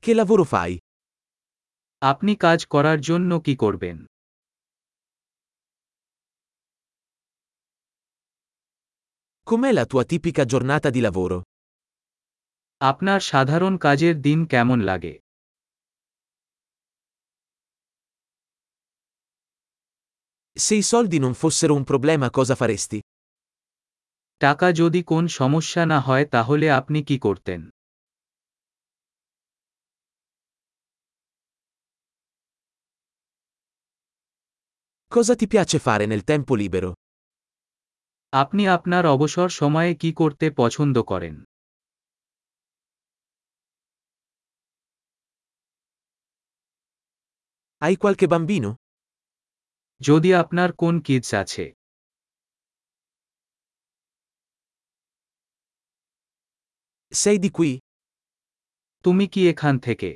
Che lavoro fai? আপনি কাজ করার জন্য কি করবেন? Com'è la tua tipica giornata di lavoro? আপনার সাধারণ কাজের দিন কেমন লাগে? Se i soldi non fossero un problema, cosa faresti? টাকা যদি কোন সমস্যা না হয় তাহলে আপনি কি করতেন? Cosa ti piace fare nel tempo libero? আপনি আপনার অবসর সময়ে কি করতে পছন্দ করেন? Hai qualche bambino? যদি আপনার কোন কিডস আছে? Sei di qui? তুমি কি এখান থেকে?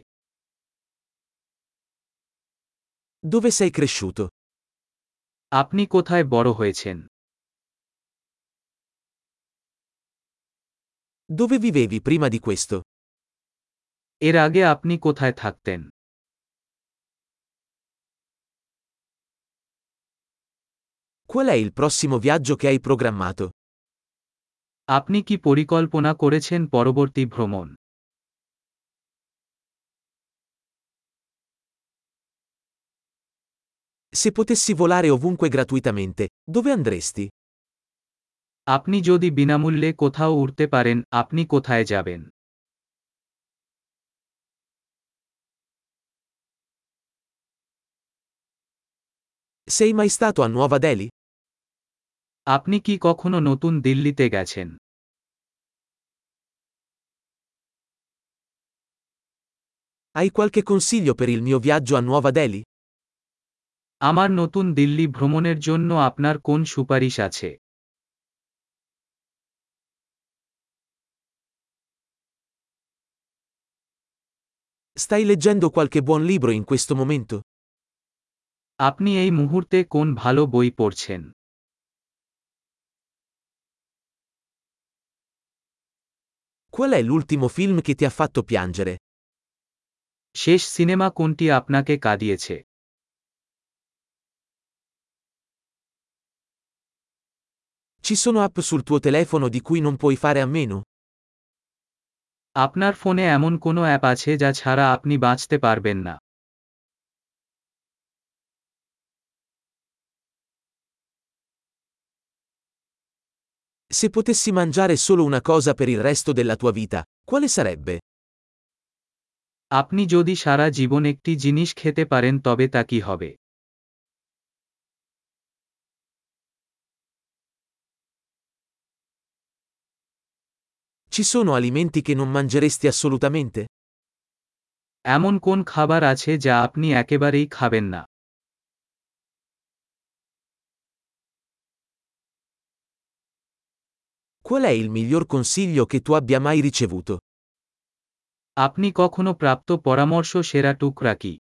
Dove sei cresciuto? আপনি কোথায় বড় হয়েছেন? Dove vivevi prima di questo? এর আগে আপনি কোথায় থাকতেন? Qual è il prossimo viaggio che hai programmato? আপনি কি পরিকল্পনা করেছেন পরবর্তী ভ্রমণ? Se potessi volare ovunque gratuitamente, dove andresti? আপনি যদি বিনামূল্যে কোথাও উড়তে পারেন, আপনি কোথায় যাবেন? Sei mai stato a Nuova Delhi? আপনি কি কখনো নতুন দিল্লিতে গেছেন? Hai qualche consiglio per il mio viaggio a Nuova Delhi? আমার নতুন দিল্লি ভ্রমণের জন্য আপনার কোন সুপারিশ আছে? Stai leggendo qualche buon libro in questo momento? আপনি এই মুহূর্তে কোন ভালো বই পড়ছেন? Qual è l'ultimo film che ti ha fatto piangere? শেষ সিনেমা কোনটি আপনাকে কাঁদিয়েছে? Ci sono app sul tuo telefono di cui non puoi fare a meno? আপনার ফোনে এমন কোনো অ্যাপ আছে যা ছাড়া আপনি বাঁচতে পারবেন না? Se potessi mangiare solo una cosa per il resto della tua vita, quale sarebbe? আপনি যদি সারা জীবন একটি জিনিস খেতে পারেন তবে তা কি হবে? Ci sono alimenti che non mangeresti assolutamente? এমন কোন খাবার আছে যা আপনি একেবারেই খাবেন না? Qual è il miglior consiglio che tu abbia mai ricevuto? আপনি কখনো প্রাপ্ত পরামর্শ সেরা টুকরা কি?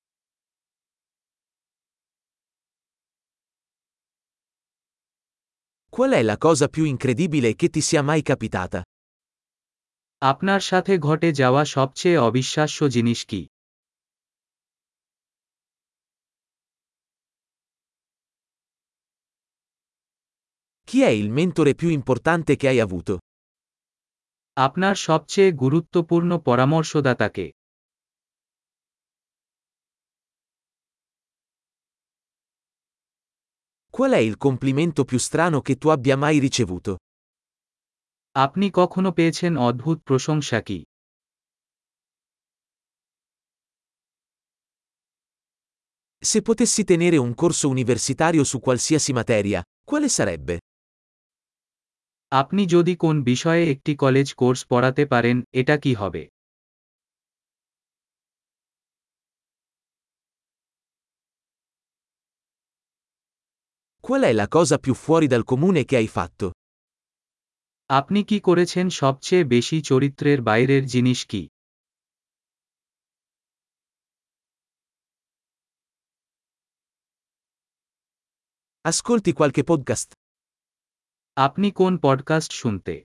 Qual è la cosa più incredibile che ti sia mai capitata? আপনার সাথে ঘটে যাওয়া সবচেয়ে অবিশ্বাস্য জিনিস কি? Chi è il mentore più importante che hai avuto? আপনার সবচেয়ে গুরুত্বপূর্ণ পরামর্শদাতা কে? Qual è il complimento più strano che tu abbia mai ricevuto? আপনি কখনো পেয়েছেন অদ্ভুত প্রশংসা কি? Se potessi tenere un corso universitario su qualsiasi materia, quale sarebbe? আপনি যদি কোন বিষয়ে একটি কলেজ কোর্স পড়াতে পারেন, এটা কি হবে? Qual è la cosa più fuori dal comune che hai fatto? আপনি কি করেছেন সবচেয়ে বেশি চরিত্রের বাইরের জিনিস কি? Ascolti qualche podcast? আপনি কোন পডকাস্ট শুনতে